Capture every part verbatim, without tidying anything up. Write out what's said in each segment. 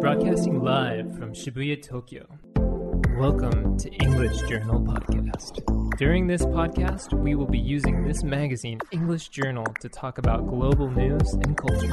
Broadcasting live from Shibuya, Tokyo. Welcome to English Journal Podcast. During this podcast, we will be using this magazine, English Journal, to talk about global news and culture.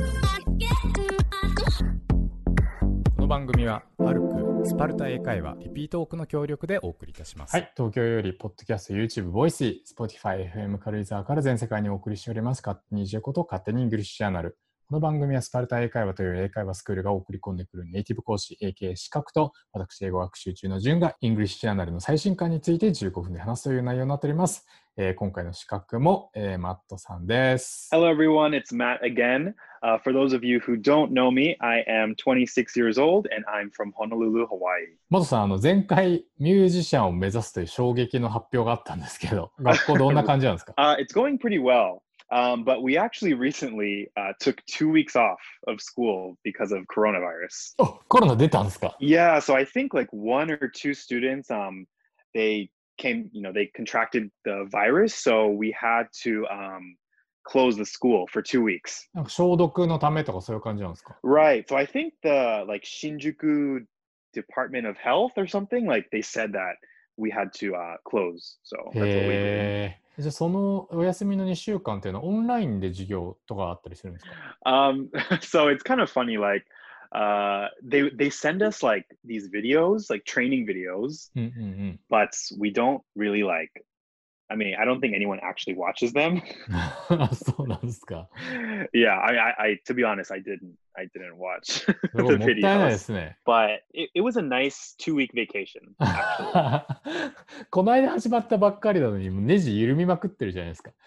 この番組はパルクスパルタ英会話リピートオークの協力でお送りいたします。はい、東京よりポッドキャスト、YouTube、ボイシー、Spotify、エフエム 軽井沢から全世界にお送りしております。勝手にジェこと勝手にイングリッシュジャーナル。この番組はスパルタ英会話という英会話スクールが送り込んでくるネイティブ講師 エーケー 資格と私英語学習中の順がイングリッシュジャーナルの最新刊についてじゅうごふんで話すという内容になっております。えー、今回の資格も、えー、マットさんです。 Hello everyone, it's Matt again. Uh, for those of you who don't know me, I am twenty-six years old and I'm from Honolulu, Hawaii. マットさん、あの前回ミュージシャンを目指すという衝撃の発表があったんですけど、学校どんな感じなんですか？ uh, It's going pretty well.Um, but we actually recently uh, took two weeks off of school because of coronavirus. お、コロナ出たんですか？ Yeah, so I think like one or two students, um, they came, you know, they contracted the virus, so we had to um, close the school for two weeks. なんか消毒のためとかそういう感じなんですか？ Right. So I think the like Shinjuku Department of Health or something, like they said that we had to uh, close. So that's what we did. へー。じゃあそのお休みのにしゅうかんっていうのはオンラインで授業とかあったりするんですか？ Um, so it's kind of funny, like uh, they they send us like these videos, like training videos, うんうんうん。 but we don't really like. I mean, I don't think anyone actually watches them. そうなんですか。 Yeah, I, I, I, to be honest, I didn't, I didn't watch すごい the もったいないで videos. すね。 But it, it was a nice two-week vacation, actually. この間始まったばっかりなのにもうネジ緩みまくってるじゃないですか。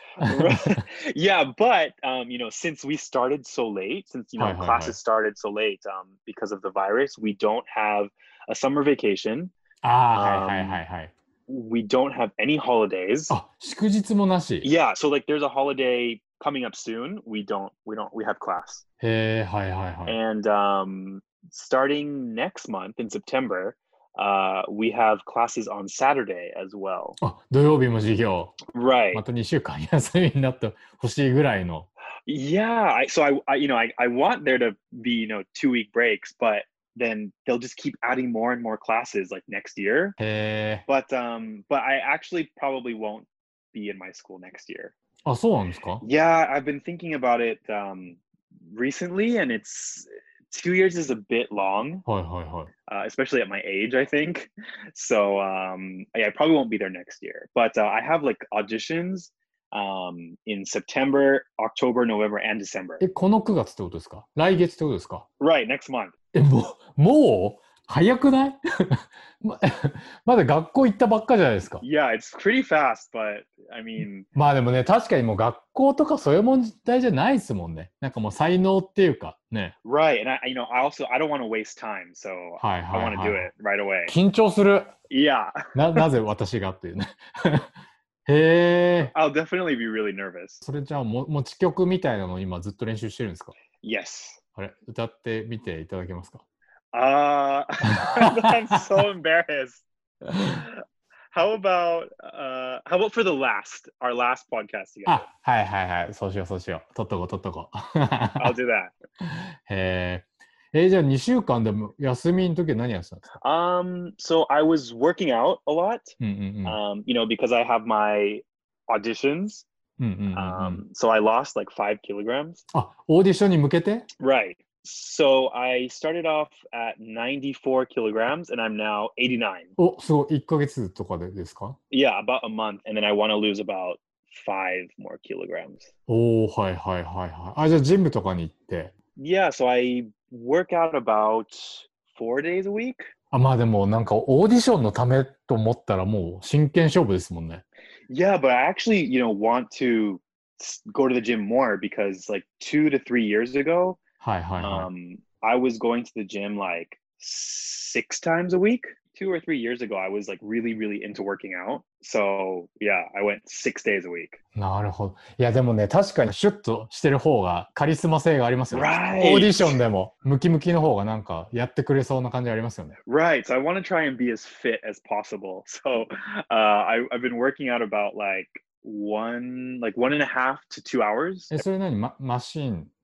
Yeah, but um, you know, since we started so late, since you know はいはいはい。 classes started so late, um, because of the virus, we don't have a summer vacation. ああ、はいはいはいはい。 We don't have any holidays. あ、祝日もなし。 Yeah, so like there's a holiday coming up soon. We don't, we don't, we have class. へえ、はいはいはい。 And um, starting next month in September, uh, we have classes on Saturday as well. あ、土曜日も授業。 Right. またにしゅうかん休みになってほしいぐらいの。 Yeah, I, so I, I, you know, I, I want there to be, you know, two week breaks, but then they'll just keep adding more and more classes like next year. へえ。 But um, but I actually probably won't be in my school next year. あ、そうなんですか？ Yeah, I've been thinking about it um, recently, and it's two years is a bit long, はいはいはい。 uh, especially at my age, I think. So um, yeah, I probably won't be there next year. But uh, I have like auditions um, in September, October, November, and December. え、このくがつってことですか？来月ってことですか？ Right, next month. え、もう、もう早くない？ままだ学校行ったばっかじゃないですか。 Yeah, it's pretty fast, but I mean, まあでもね、確かにもう学校とかそういう問題じゃないですもんね。なんかもう才能っていうかね。 right, and I, you know, I also I don't want to waste time, so はい I はい want to は do い。 it right away. 緊張する。 Yeah, な、なぜ私がっていうね。へえ。 I'll definitely be really nervous. それじゃあも持ち曲みたいなのを今ずっと練習してるんですか？ Yes. あれ、歌ってみていただけますか？ Uh, I'm so embarrassed. How about uh, how about for the last, our last podcast together? あ、はいはいはい。そうしようそうしよう。取っとこう取っとこう。 I'll do that. へえ。え、じゃあにしゅうかんでも休みの時は何やってたんですか？ Um, so I was working out a lot. うんうんうん。 Um, you know, because I have my auditions. うんうんうんうん。 Um, so I lost like five kilograms. あ、オーディションに向けて？ Right. So I started off at ninety-four kilograms and I'm now eighty-nine. お、すごい。いっかげつとかでですか？ Yeah, about a month. And then I want to lose about five more kilograms. おー、はいはいはいはい。あ、じゃあジムとかに行って。 Yeah, so I work out about four days a week. あ、まあでもなんかオーディションのためと思ったらもう真剣勝負ですもんね。 Yeah, but I actually, you know, want to s- go to the gym more because like two to three years ago, はいはいはい。 um, I was going to the gym like six times a week. Two or three years ago, I was like really, really into working out. So yeah, I went six days a week. なるほど。いやでもね、確かにシュッとしてる方がカリスマ性がありますよね。 Right. オーディションでもムキムキの方がなんかやってくれそうな感じありますよね。 Right. So I want to try and be as fit as possible. So uh, I, I've been working out about like one, like one and a half to two hours. え、それ何、ま、マシン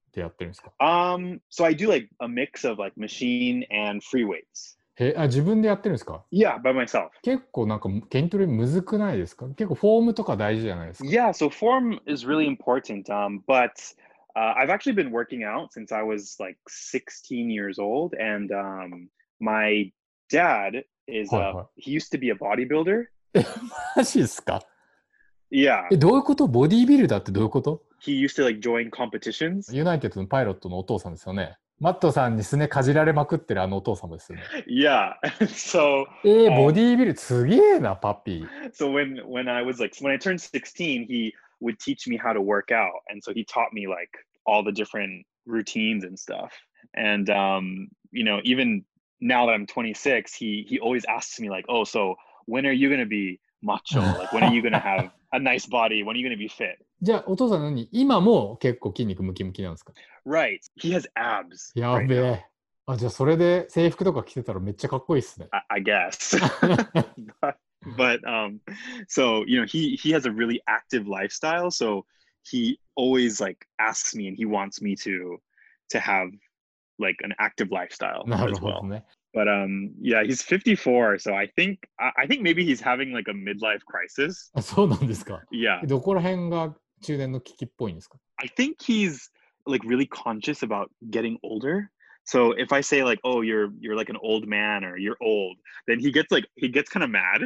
でやってるんですか？ Um, so I do like a mix of like machine and free weights. へあ、自分でやってるんですか？ Yeah, by myself. 結構なんか筋トレむずくないですか？結構フォームとか大事じゃないですか？ Yeah, so form is really important. Um, but uh, I've actually been working out since I was like sixteen years old, and um, my dad is はい a は he used to be a bodybuilder. い。え、マジですか？ Yeah, え、どういうこと？ボディービルダーってどういうこと？ he used to like join competitions. ユナイテッドのパイロットのお父さんですよね。マットさんにすねかじられまくってるあのお父様ですよね。 Yeah, so えー、ボ um, ディービルすげえな、パピー。 so when when I was like when I turned sixteen, he would teach me how to work out, and so he taught me like all the different routines and stuff. And um, you know, even now that I'm twenty-six, he he always asks me like, "Oh, so when are you gonna be macho? Like, when are you gonna have a nice body? When are you gonna be fit?" じゃあお父さん何今も結構筋肉ムキムキなんですか？ Right. He has abs や right べ now. え。あ、じゃあそれで制服とか着てたらめっちゃかっこいいっすね。 I, I guess. but, but um, so you know, he he has a really active lifestyle, so he always like asks me and he wants me to to have like an active lifestyle なる as ほど well. ね。 But um, yeah, he's fifty-four, so I think I, I think maybe he's having like a midlife crisis. あ、そうなんですか。 Yeah, どこら辺が中年の危機っぽいんですか？ I think he's like really conscious about getting older. So if I say like, "Oh, you're you're like an old man" or "You're old," then he gets like he gets kind of mad.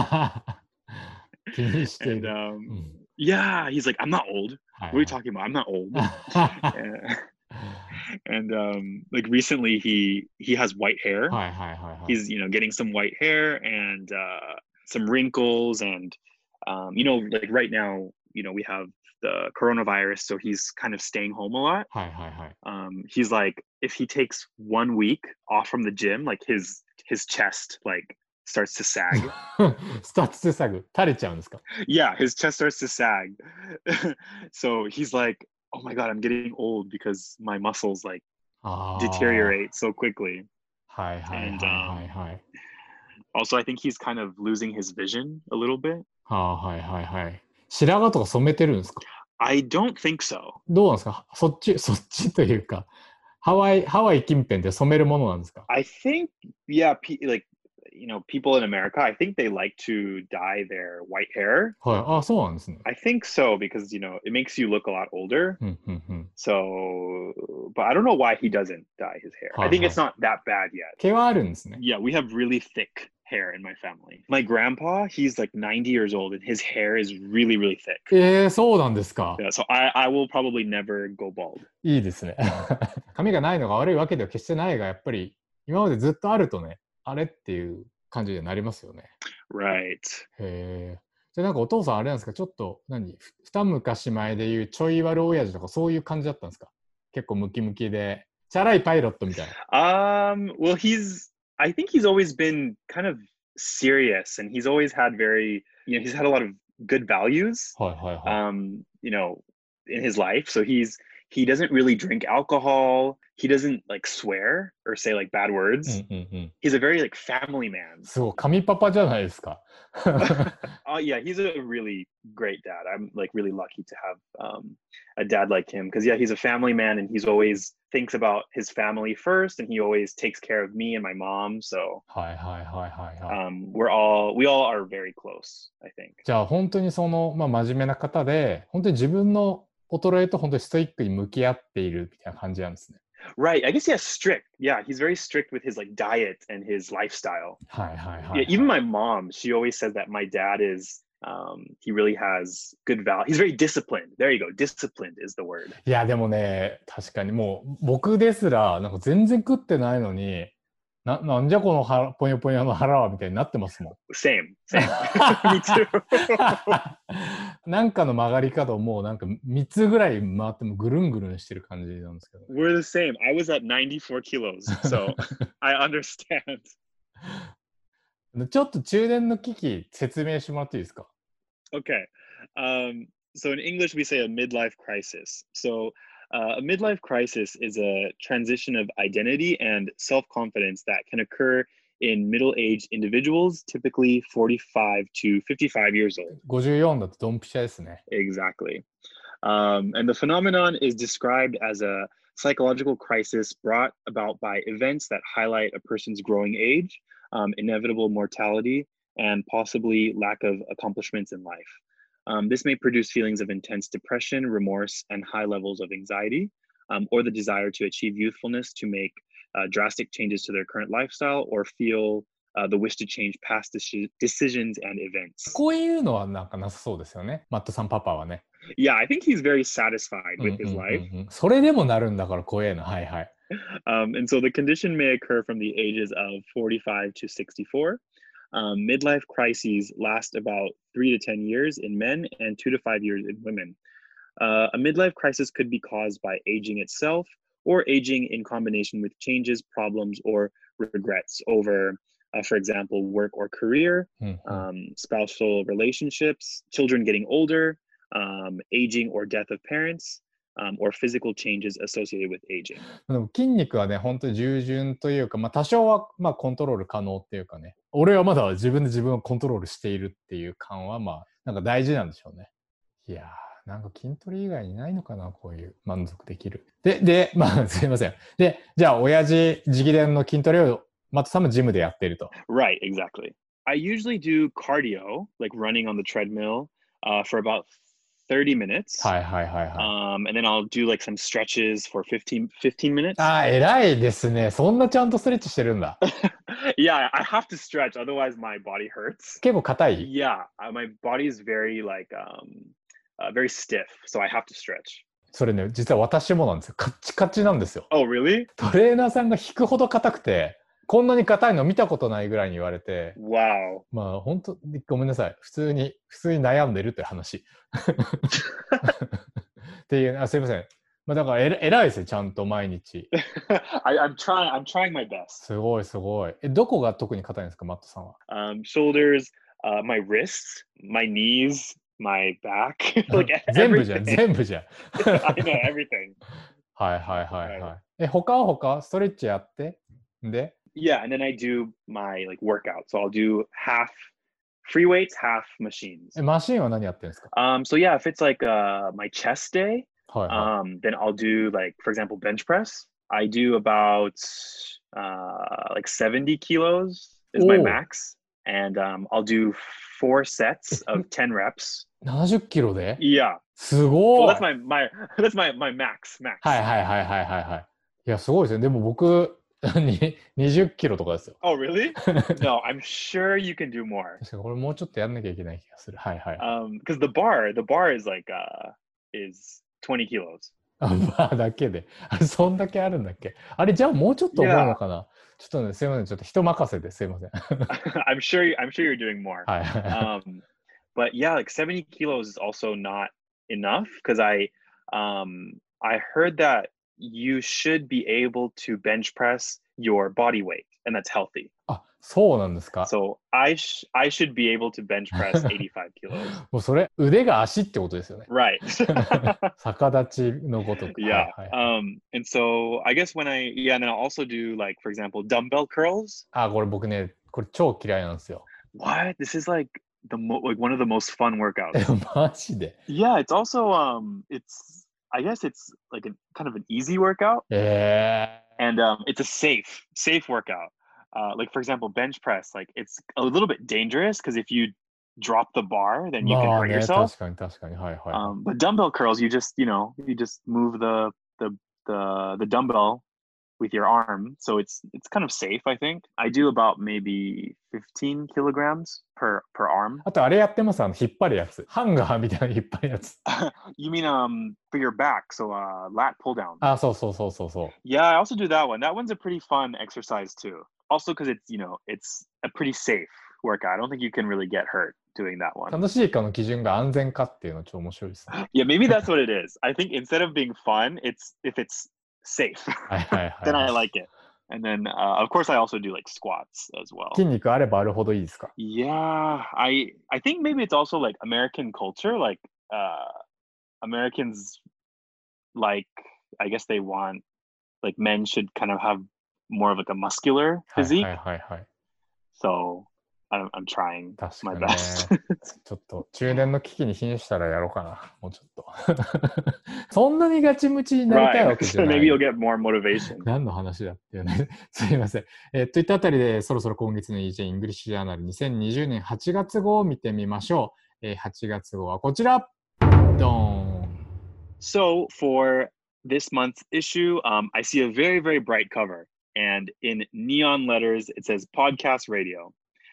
気にしてい And る。 um, うん yeah, he's like, "I'm not old. はい What are you talking about? I'm not old." はい And, and um, like recently, he he has white hair. はいはいはいはい。 He's you know getting some white hair and uh, some wrinkles, and um, you know like right now, you know we have the coronavirus, so he's kind of staying home a lot. はいはいはい。 Um, he's like, if he takes one week off from the gym, like his his chest like starts to sag. スタッツでサグ、垂れちゃうんですか？ Yeah, his chest starts to sag. So he's like, oh my god, I'm getting old because my muscles like ああ。 deteriorate so quickly. はいはいはい And はい um, はい。 also, I think he's kind of losing his vision a little bit. はあはいはいはい。白髪とか染めてるんですか？ I don't think so. どうなんですか？そっち、そっちというか、ハワイ、ハワイ近辺で染めるものなんですか？ I think, yeah, pe- like, you know, people in America, I think they like to dye their white hair. はい。あ、そうなんですね。 I think so because, you know, it makes you look a lot older. うんうんうん。 So, but I don't know why he doesn't dye his hair. I think it's not that bad yet. 毛はあるんですね。 Yeah, we have really thick hair in my family. My grandpa, he's like ninety years old and his hair is really, really thick. えー、そうなんですか。 Yeah, so I, I will probably never go bald. いいですね。髪がないのが悪いわけでは決してないが、やっぱり今までずっとあるとね、あれっていう感じになりますよね。 Right. へえ。じゃあなんかお父さんあれなんですか？ちょっと何ふ二昔前でいうちょい悪親父とかそういう感じだったんですか？結構ムキムキで、チャラいパイロットみたいな。 Um, well, he's, I think he's always been kind of serious and he's always had very, you know, he's had a lot of good values, はいはいはい。 um, you know, in his life. So he's, he doesn't really drink alcohol. He doesn't like swear or say like bad うん words. うんうん。 He's a very like family man. すごい、神パパじゃないですか。 Oh yeah, he's a really great dad. I'm like really lucky to have um, a dad like him because yeah, he's a family man and he's always thinks about his family first and he always takes care of me and my mom. So はいはいはいはいはい。 um, we're all we all are very close, I think. じゃあ本当にその、まあ、真面目な方で、本当に自分の衰えと本当にストイックに向き合っているみたいな感じなんですね。 Right. I guess yeah, strict. Yeah, he's very strict with his like diet and his lifestyle. はいはいは Yeah, い、 even my mom, she always says that my dad is um, he really has good value. He's very disciplined. There you go. Disciplined is the word. いやでもね、確かにもう僕ですらなんか全然食ってないのに、な、なんじゃこの腹ぽよぽよの腹はみたいになってますもん。 Same. Same. Me too. なんかの曲がり角をもうなんかみっつぐらい回ってもぐるんぐるんしてる感じなんですけど。 We're the same. I was at ninety-four kilos, so I understand. ちょっと中年の危機説明してもらっていいですか？ Okay. Um, so in English, we say a midlife crisis. So uh, a midlife crisis is a transition of identity and self-confidence that can occur in middle-aged individuals, typically forty-five to fifty-five years old. ごじゅうよんだとドンピシャですね。 Exactly. Um, and the phenomenon is described as a psychological crisis brought about by events that highlight a person's growing age, um, inevitable mortality, and possibly lack of accomplishments in life. Um, this may produce feelings of intense depression, remorse, and high levels of anxiety, um, or the desire to achieve youthfulness to make uh, drastic changes to their current lifestyle, or feel uh, the wish to change past deci- decisions and events. こういうのはなんかなさそうですよね。マットさんパパはね。 Yeah, I think he's very satisfied うん with うん his うん life. うん。それでもなるんだから怖えな。はいはい。 Um, and so the condition may occur from the ages of forty-five to sixty-four. Um, midlife crises last about three to ten years in men and two to five years in women. Uh, a midlife crisis could be caused by aging itself or aging in combination with changes, problems, or regrets over, uh, for example, work or career, うんうん um, spousal relationships, children getting older, um, aging or death of parents, um, or physical changes associated with aging. でも筋肉はね、本当に従順というか、まあ、多少はまあコントロール可能っていうかね、俺はまだ自分で自分をコントロールしているっていう感は、まあ、なんか大事なんでしょうね。いやー、なんか筋トレ以外にないのかな、こういう満足できる。で、で、まあ、すいません。で、じゃあ、親父直伝の筋トレを、マットさんもジムでやっていると。 Right, exactly. I usually do cardio, like running on the treadmill, uh, for about thirty minutes. はいはいはいはい。 Um, and then I'll do like some stretches for fifteen, fifteen minutes. あー、偉いですね。そんなちゃんとストレッチしてるんだ。 Yeah, I have to stretch, otherwise my body hurts. 結構硬い Yeah, uh, my body is very like um, uh, very stiff, so I have to stretch. それね、実は私もなんですよ。カッチカチなんですよ。 Oh, really? トレーナーさんが引くほど硬くて、こんなに硬いの見たことないぐらいに言われて、 Wow. まあ本当ごめんなさい。普通に、普通に悩んでるって話。っていう、あ、すいません。まあだからえ偉いですよ、ちゃんと毎日。 I, I'm trying. I'm trying my best. すごいすごい。え、どこが特に硬いんですか、マットさんは。 Um, shoulders, uh, my wrists, my knees, my back, like 全部じゃん、 everything. 全部じゃん。 I know everything. はいはいはいはい。え、他は他ストレッチやってで Yeah, and then I do my like workout. So I'll do half free weights, half machines. え、マシンは何やってるんですか Um, so yeah, if it's like uh my chest day, はいは um, then I'll do like, for example, bench press. I do about uh like seventy kilos is my Oh. max, and um, I'll do four sets of ten reps. い。ななじゅっキロで Yeah, す well ごい that's my my that's my my max max. はいはいはいはいはいはい。いや、すごいですね。でも僕、ににじゅっキロとかですよ。 Oh really? No, I'm sure you can do more. 確かにこれもうちょっとやんなきゃいけない気がする。はいはい。 Um, because the bar, the bar is like uh is twenty kilos. あ、まあだけで。あれ、そんだけあるんだっけあれ、じゃあもうちょっと重いのかなちょっとね、すいません。ちょっと人任せですいません。 I'm sure you, I'm sure you're doing more. はいはいはい。 Um, but yeah, like seventy kilos is also not enough because I um I heard that you should be able to bench press your body weight, and that's healthy. あ、そうなんですか So I sh- I should be able to bench press eighty-five kilos. もうそれ、腕が足ってことですよね。 Right. 逆立ちのごとく。 Yeah. はいはいはい。 Um, and so I guess when I yeah, and then I'll also do like, for example, dumbbell curls. あ、これ僕ね、これ超嫌いなんですよ。 What? This is like the mo- like one of the most fun え workouts. マジで Yeah, it's also um it's I guess it's like a kind of an easy workout, え and um it's a safe safe workout. Uh, like for example, bench press, like it's a little bit dangerous because if you drop the bar, ー、 then you can まあ hurt ね、 yourself. 確かに確かに。はいはい。 Um, but dumbbell curls, you just you know you just move the the the the dumbbell with your arm, so it's it's kind of safe. I think I do about maybe fifteen kilograms per per arm. あとあれやってます、あの引っ張るやつ。ハンガーみたいな引っ張るやつ。 You mean um for your back? So uh, lat pull down. あ、そうそうそうそうそう。 Yeah, I also do that one. That one's a pretty fun exercise too. Also, because it's you know it's a pretty safe workout. I don't think you can really get hurt doing that one. 楽しいかの基準が安全かっていうのちょっと面白いですね。 Yeah, maybe that's what it is. I think instead of being fun, it's if it's safe, はいはいはい。 then I like it. And then uh, of course I also do like squats as well. 筋肉あればあるほどいいですか Yeah, I I think maybe it's also like American culture. Like uh, Americans like I guess they want like men should kind of have more of like a muscular はい physique. はいはいはい。 So I'm, I'm trying 確 my か best. ね。ちょっと中年の危機に瀕したらやろうかな。もうちょっと。そんなにガチムチになりたい Right. わけじゃ So な maybe い。 you'll get more motivation. 何の話だっていうね。すいません。えーといったあたりで、そろそろ今月の イージェー イングリッシュジャーナルにせんにじゅうねんはちがつ号を見てみましょう。えーはちがつ号はこちら。ドーン。 So for this month's issue, um, I see a very, very bright cover. And in neon letters, it says podcast radio.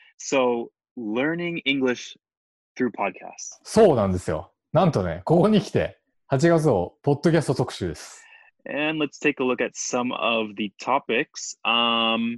So learning English through podcasts. そうなんですよ。なんとね、ここに来て、はちがつ号、ポッドキャスト特集です。 And let's take a look at some of the topics. Um,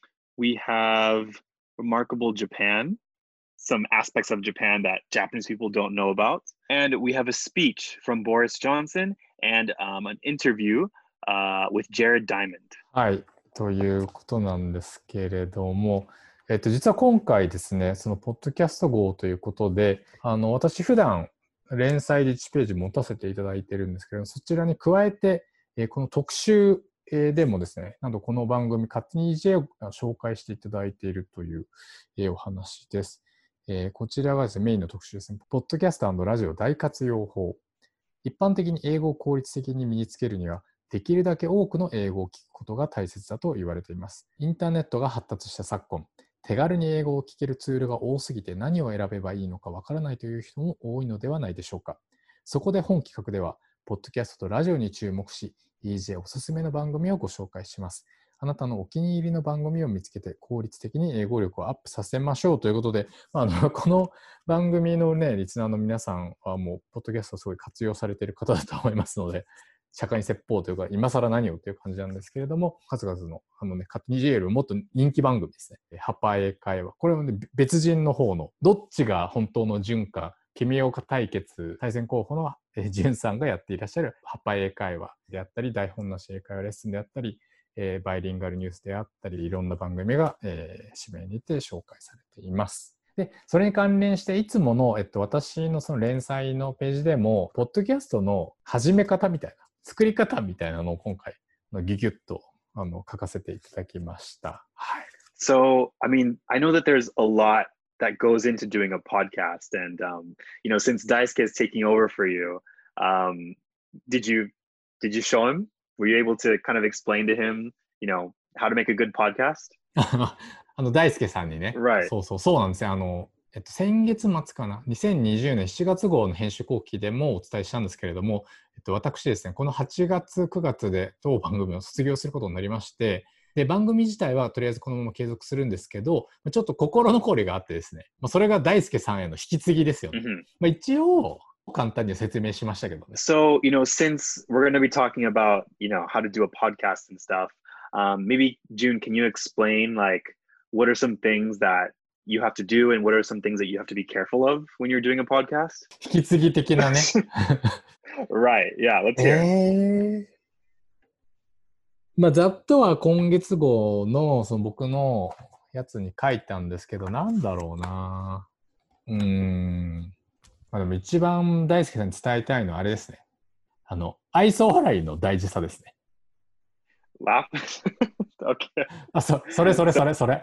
we have remarkable Japan, some aspects of Japan that Japanese people don't know about. And we have a speech from Boris Johnson and um, an interview uh, with Jared Diamond. はい、ということなんですけれども、えっと、実は今回ですね、そのポッドキャスト号ということで、あの私普段連載でいちページ持たせていただいてるんですけど、そちらに加えて、えー、この特集でもですね、なんとこの番組、勝手に イージェー を紹介していただいているという、えー、お話です。えー、こちらがですね、メインの特集ですね。ポッドキャスト&ラジオ大活用法。一般的に英語を効率的に身につけるには、できるだけ多くの英語を聞くことが大切だと言われています。インターネットが発達した昨今、手軽に英語を聞けるツールが多すぎて何を選べばいいのかわからないという人も多いのではないでしょうか。そこで本企画では、ポッドキャストとラジオに注目し、イージェー おすすめの番組をご紹介します。あなたのお気に入りの番組を見つけて効率的に英語力をアップさせましょうということで、あのこの番組のね、リスナーの皆さんはもう、ポッドキャストをすごい活用されている方だと思いますので、社会に説法というか、今更何をという感じなんですけれども、数々の、あのね、勝手に イージェー よりももっと人気番組ですね。ハパ英会話。これはね、別人の方の、どっちが本当の純か、君岡対決、対戦候補の純さんがやっていらっしゃるハパ英会話であったり、台本なし英会話レッスンであったり、えー、バイリンガルニュースであったり、いろんな番組が、えー、指名にて紹介されています。で、それに関連して、いつもの、えっと、私のその連載のページでも、ポッドキャストの始め方みたいな、作り方みたいなのを今回、ギュギュッとあの書かせていただきました。はい。 So, I mean, I know that there's a lot that goes into doing a podcast. And, um, you know, since Daisuke is taking over for you, um, did you, did you show him? Were you able to kind of explain to him, you know, how to make a good podcast? あの、大輔さんにね。 Right. そうそう、そうなんですよ。あの、えっと、先月末かな、にせんにじゅうねんしちがつ号の編集後期でもお伝えしたんですけれども、えっと、私ですね、このはちがつ、くがつで当番組を卒業することになりまして、で、番組自体はとりあえずこのまま継続するんですけど、ちょっと心残りがあってですね、まあ、それが大輔さんへの引き継ぎですよね。 Mm-hmm. まあ、一応、簡単に説明しましたけどね。 So, you know, since we're going to be talking about, you know, how to do a podcast and stuff, um, maybe, June, can you explain, like, what are some things that you have to do and what are some things that you have to be careful of when you're doing a podcast? 引き継ぎ的なね。 Right. Yeah. Let's hear. えー、まあ、ざっとは今月号のその僕のやつに書いたんですけど、なんだろうな。うーん。まあ、でも一番大輔さんに伝えたいのはあれですね。あの、愛想笑いの大事さですね。 Laugh? Okay. あ、そ、それそれそれそれ。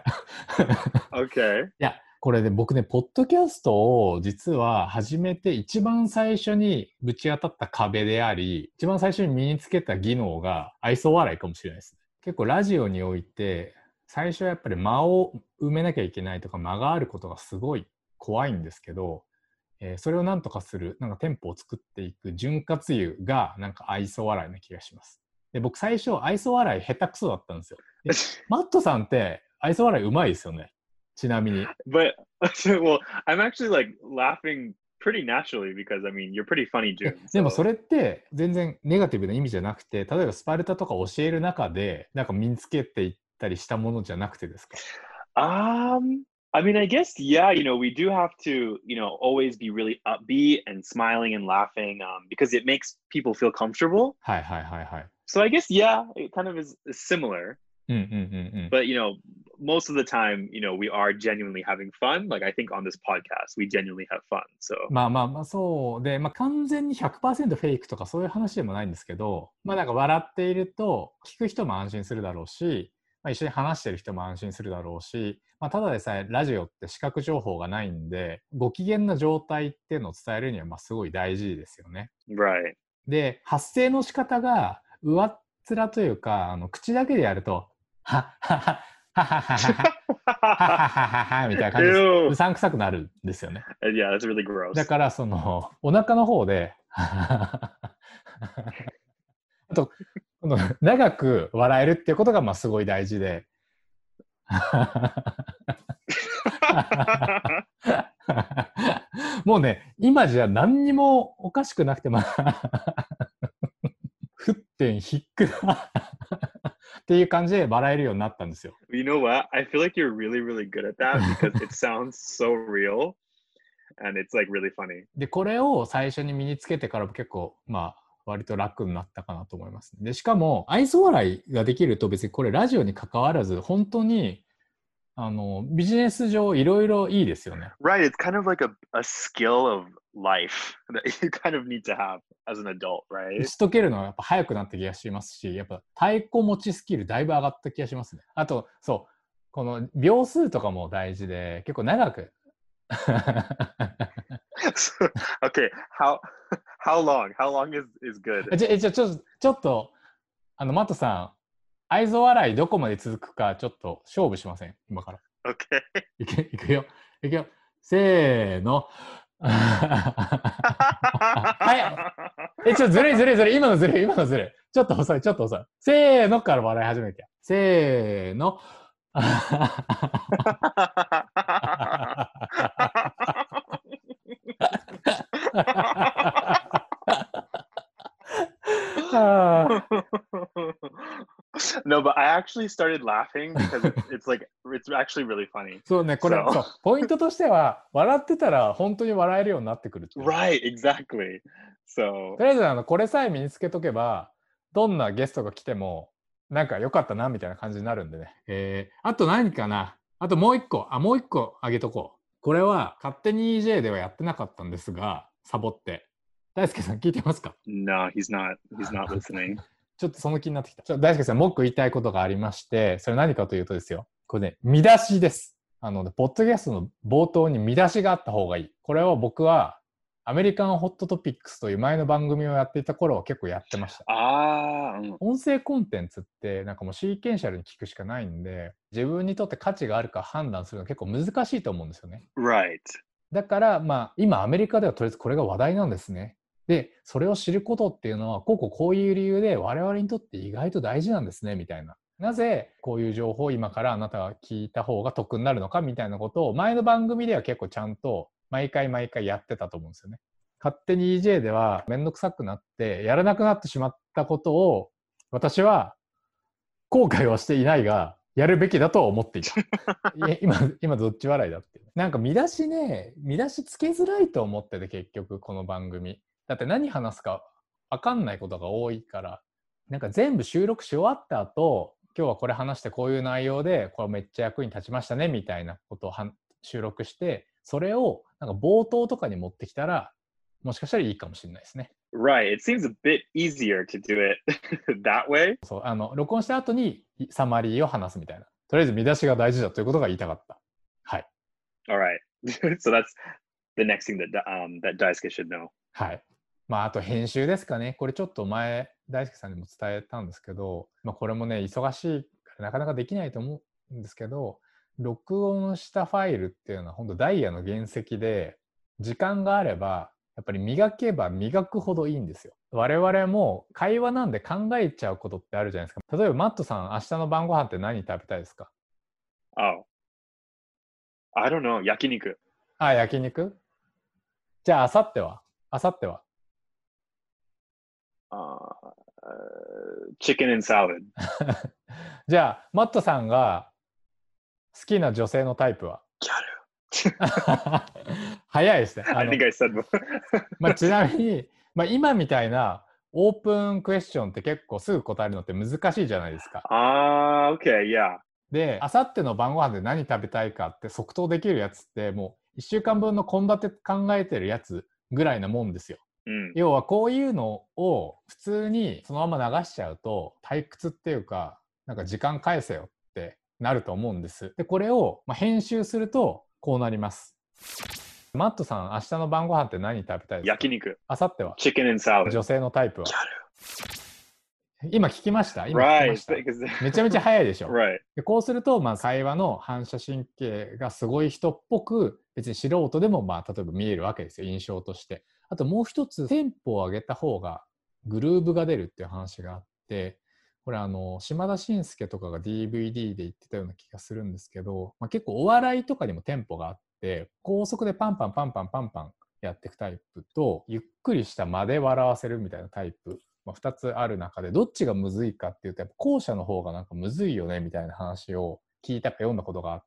Okay. いや、これで僕ね、ポッドキャストを実は始めて一番最初にぶち当たった壁であり、一番最初に身につけた技能が愛想笑いかもしれないですね。結構ラジオにおいて、最初はやっぱり間を埋めなきゃいけないとか間があることがすごい怖いんですけど、えー、それをなんとかする、なんかテンポを作っていく潤滑油がなんか愛想笑いな気がします。で、僕最初愛想笑い下手くそだったんですよ。マットさんって愛想笑いうまいですよね。ちなみに。 But, well, I'm actually like laughing pretty naturally because, I mean, you're pretty funny, June. でもそれって全然ネガティブな意味じゃなくて、例えばスパルタとか教える中でなんか身につけていったりしたものじゃなくてですか？ Um, I mean, I guess, yeah, you know, we do have to, you know, always be really upbeat and smiling and laughing um, because it makes people feel comfortable. はいはいはいはい。 So I guess, yeah, it kind of is, is similar. うんうんうんうん。 But, you know, most of the time, you know, we are genuinely having fun. Like, I think on this podcast, we genuinely have fun. So まあまあまあそうで、まあ完全に ひゃくパーセント フェイクとかそういう話でもないんですけど、まあなんか笑っていると聞く人も安心するだろうし、 まあ、一緒に話してる人も安心するだろうし、まあ、ただでさえラジオって視覚情報がないんで、ご機嫌な状態っていうのを伝えるにはまあすごい大事ですよね。 Right. で、発声の仕方が上っ面というか、あの口だけでやると、はっはっはっはっはっはっはっはっはっはっはみたいな感じでうさんくさくなるんですよね。 Yeah, that's really gross. だからそのお腹の方であとこの長く笑えるっていうことがまあすごい大事でもうね今じゃ何にもおかしくなくてまあ沸点低くなっていう感じで笑えるようになったんですよ。 You know what? I feel like you're really, really good at that because it sounds so real and it's like really funny. で、これを最初に身につけてからも結構、まあ、割と楽になったかなと思います。で、しかも、愛想笑いができると別にこれラジオに関わらず、本当に、あの、ビジネス上いろいろいいですよね。 Right, it's kind of like a, a skill of life that you kind of need to have as an adult, 打 right? ち解けるのはやっぱ早くなった気がしますし、やっぱ太鼓持ちスキルだいぶ上がった気がしますね。あと、そう、この秒数とかも大事で、結構長く。 Okay, how how long? How long is is good? じゃ、じゃ、ちょっと、ちょっと、あの、マットさん、愛想笑いどこまで続くか、ちょっと勝負しません今から。 Okay. いく、いくよ。いくよ。せーの。はい。え、ちょっとずるいずるいずるい。今のずるい、今のずるい。ちょっと遅い、ちょっと遅い。せーのから笑い始めて。せーの。 No, but I actually started laughing because it's, it's like it's actually really funny. そうね、これ、 So- そう、ポイントとしては、笑ってたら本当に笑えるようになってくるっていう。 Right, exactly. So とりあえずあのこれさえ身につけとけば、どんなゲストが来てもなんか良かったなみたいな感じになるんでね。えー、あと何かなあともう一個、あ、もう一個あげとこう。これは勝手に イージェー ではやってなかったんですが、サボって。大輔さん聞いてますか？ no, he's not. He's not listening. ちょっとその気になってきた。ちょ大輔さん、もう一個言いたいことがありまして、それ何かというとですよ。これね、見出しです。あの、ポッドキャストの冒頭に見出しがあった方がいい。これは僕はアメリカンホットトピックスという前の番組をやっていた頃は結構やってました。 ああ、 音声コンテンツってなんかもうシーケンシャルに聞くしかないんで、自分にとって価値があるか判断するの結構難しいと思うんですよね。 right. だからまあ今アメリカではとりあえずこれが話題なんですね。で、それを知ることっていうのはこうこうこういう理由で我々にとって意外と大事なんですねみたいな。なぜこういう情報を今からあなたが聞いた方が得になるのかみたいなことを前の番組では結構ちゃんと毎回毎回やってたと思うんですよね。勝手に イージェー ではめんどくさくなってやらなくなってしまったことを私は後悔はしていないがやるべきだと思っていた。今、今どっち笑いだって。なんか見出しね、見出しつけづらいと思ってて結局この番組。だって何話すか分かんないことが多いから、なんか全部収録し終わった後、今日はこれ話してこういう内容でこれめっちゃ役に立ちましたねみたいなことをは収録して、それをなんか冒頭とかに持ってきたらもしかしたらいいかもしれないですね。 Right. It seems a bit easier to do it that way. そう、あの録音した後にサマリーを話すみたいな。とりあえず見出しが大事だということが言いたかった。はい。 All right. So that's the next thing that um that Daisuke should know. はい。まああと編集ですかね。これちょっと前大輔さんにも伝えたんですけど、まあこれもね忙しいからなかなかできないと思うんですけど、録音したファイルっていうのは本当ダイヤの原石で、時間があればやっぱり磨けば磨くほどいいんですよ。我々も会話なんで考えちゃうことってあるじゃないですか。例えばマットさん、明日の晩ご飯って何食べたいですか？ Oh. I don't know. 焼肉。 あ、焼肉？じゃあ明後日は？明後日は Uh, chicken and salad. じゃあマットさんが好きな女性のタイプは？早いですね。あ I の think I said before. まあ、ちなみに、まあ、今みたいなオープンクエスチョンって結構すぐ答えるのって難しいじゃないですか。 Ah, okay, yeah. で、あさっての晩ご飯で何食べたいかって即答できるやつってもういっしゅうかんぶんの献立考えてるやつぐらいなもんですよ。 うん、 要はこういうのを普通にそのまま流しちゃうと退屈っていうか、なんか時間返せよっなると思うんです。で、これをまあ編集するとこうなります。マットさん、明日の晩ご飯って何食べたいですか？ 焼肉。 明後日は Chicken and salad。 女性のタイプは今聞きました今聞きました、right. めちゃめちゃ早いでしょ、 right. でこうすると、まあ、会話の反射神経がすごい人っぽく、別に素人でも、まあ、例えば見えるわけですよ、印象として。あともう一つ、テンポを上げた方がグルーヴが出るっていう話があって、これあの島田紳介とかが ディーブイディー で言ってたような気がするんですけど、まあ、結構お笑いとかにもテンポがあって、高速でパンパンパンパンパンパンやっていくタイプと、ゆっくりした間で笑わせるみたいなタイプ、まあ、ふたつある中で、どっちがむずいかっていうと、やっぱ後者の方がなんかむずいよねみたいな話を聞いたか読んだことがあって、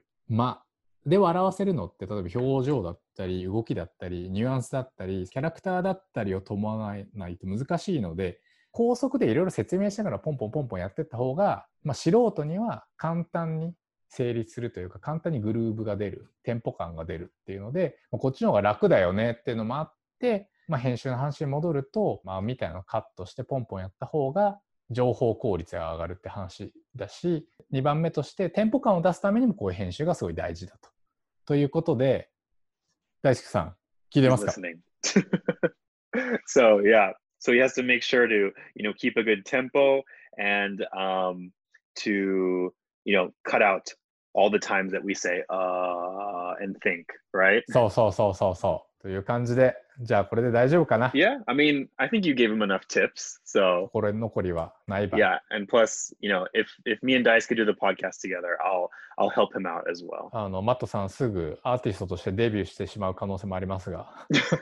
間で笑わせるのって、例えば表情だったり動きだったりニュアンスだったりキャラクターだったりを伴わないと難しいので、高速でいろいろ説明しながらポンポンポンポンやっていった方が、まあ、素人には簡単に成立するというか、簡単にグルーヴが出る、テンポ感が出るっていうので、こっちの方が楽だよねっていうのもあって、まあ、編集の話に戻ると、まあ、みたいなのをカットしてポンポンやった方が情報効率が上がるって話だし、にばんめとしてテンポ感を出すためにもこういう編集がすごい大事だと。ということで、大輔さん聞いてますか？ So yeah, so he has to make sure to, you know, keep a good tempo and um, to, you know, cut out all the times that we say uh and think, right? そうそうそうそうそうという感じで、じゃあこれで大丈夫かな？ Yeah, I mean, I think you gave him enough tips, so これ残りはないば。 Yeah, and plus, you know, if if me and Dice could do the podcast together, I'll I'll help him out as well. あのマットさんすぐアーティストとしてデビューしてしまう可能性もありますが。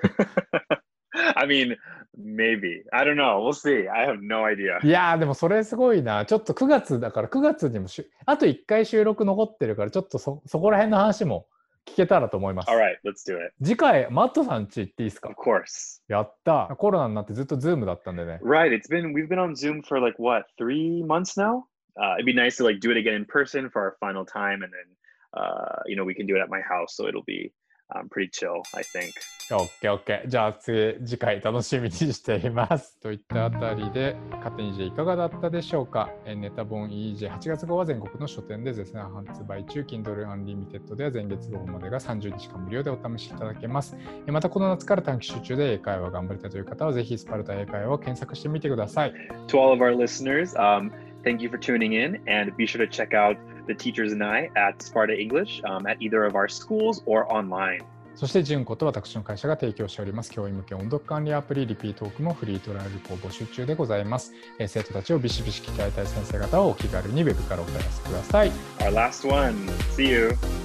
I mean, maybe. I don't know. We'll see. I have no idea. いやーでもそれすごいな。ちょっとくがつだから、くがつにもしあといっかい収録残ってるから、ちょっと そ, そこら辺の話も聞けたらと思います。 Alright, let's do it. 次回マットさん家行っていいですか？ Of course. やった。コロナになってずっとズームだったんでね。 Right. It's been we've been on Zoom for like what, three months now? Uh, it'd be nice to like do it again in person for our final time, and then uh, you know, we can do it at my house, so it'll be、um, pretty chill, I think. オッケーオッケー。じゃあ次次回楽しみにしています。といったあたりで、勝手に イージェー いかがだったでしょうか？ネタ本 イージェーはちがつ号は全国の書店で絶賛発売中。Kindle Unlimited では前月号までがさんじゅうにちかん無料でお試しいただけます。またこの夏から短期集中で英会話頑張りたいという方は、ぜひスパルタ英会話を検索してみてください。 To all of our listeners, um, thank you for tuning in, and be sure to check out the teachers and I at Sparta English、um, at either of our schools or online. そして純子と私の会社が提供しております教員向け音読管理アプリリピートークもフリートライアルを募集中でございます。えー、生徒たちをビシビシ鍛えたい先生方はお気軽にウェブからお問い合わせください。 Our last one. See you.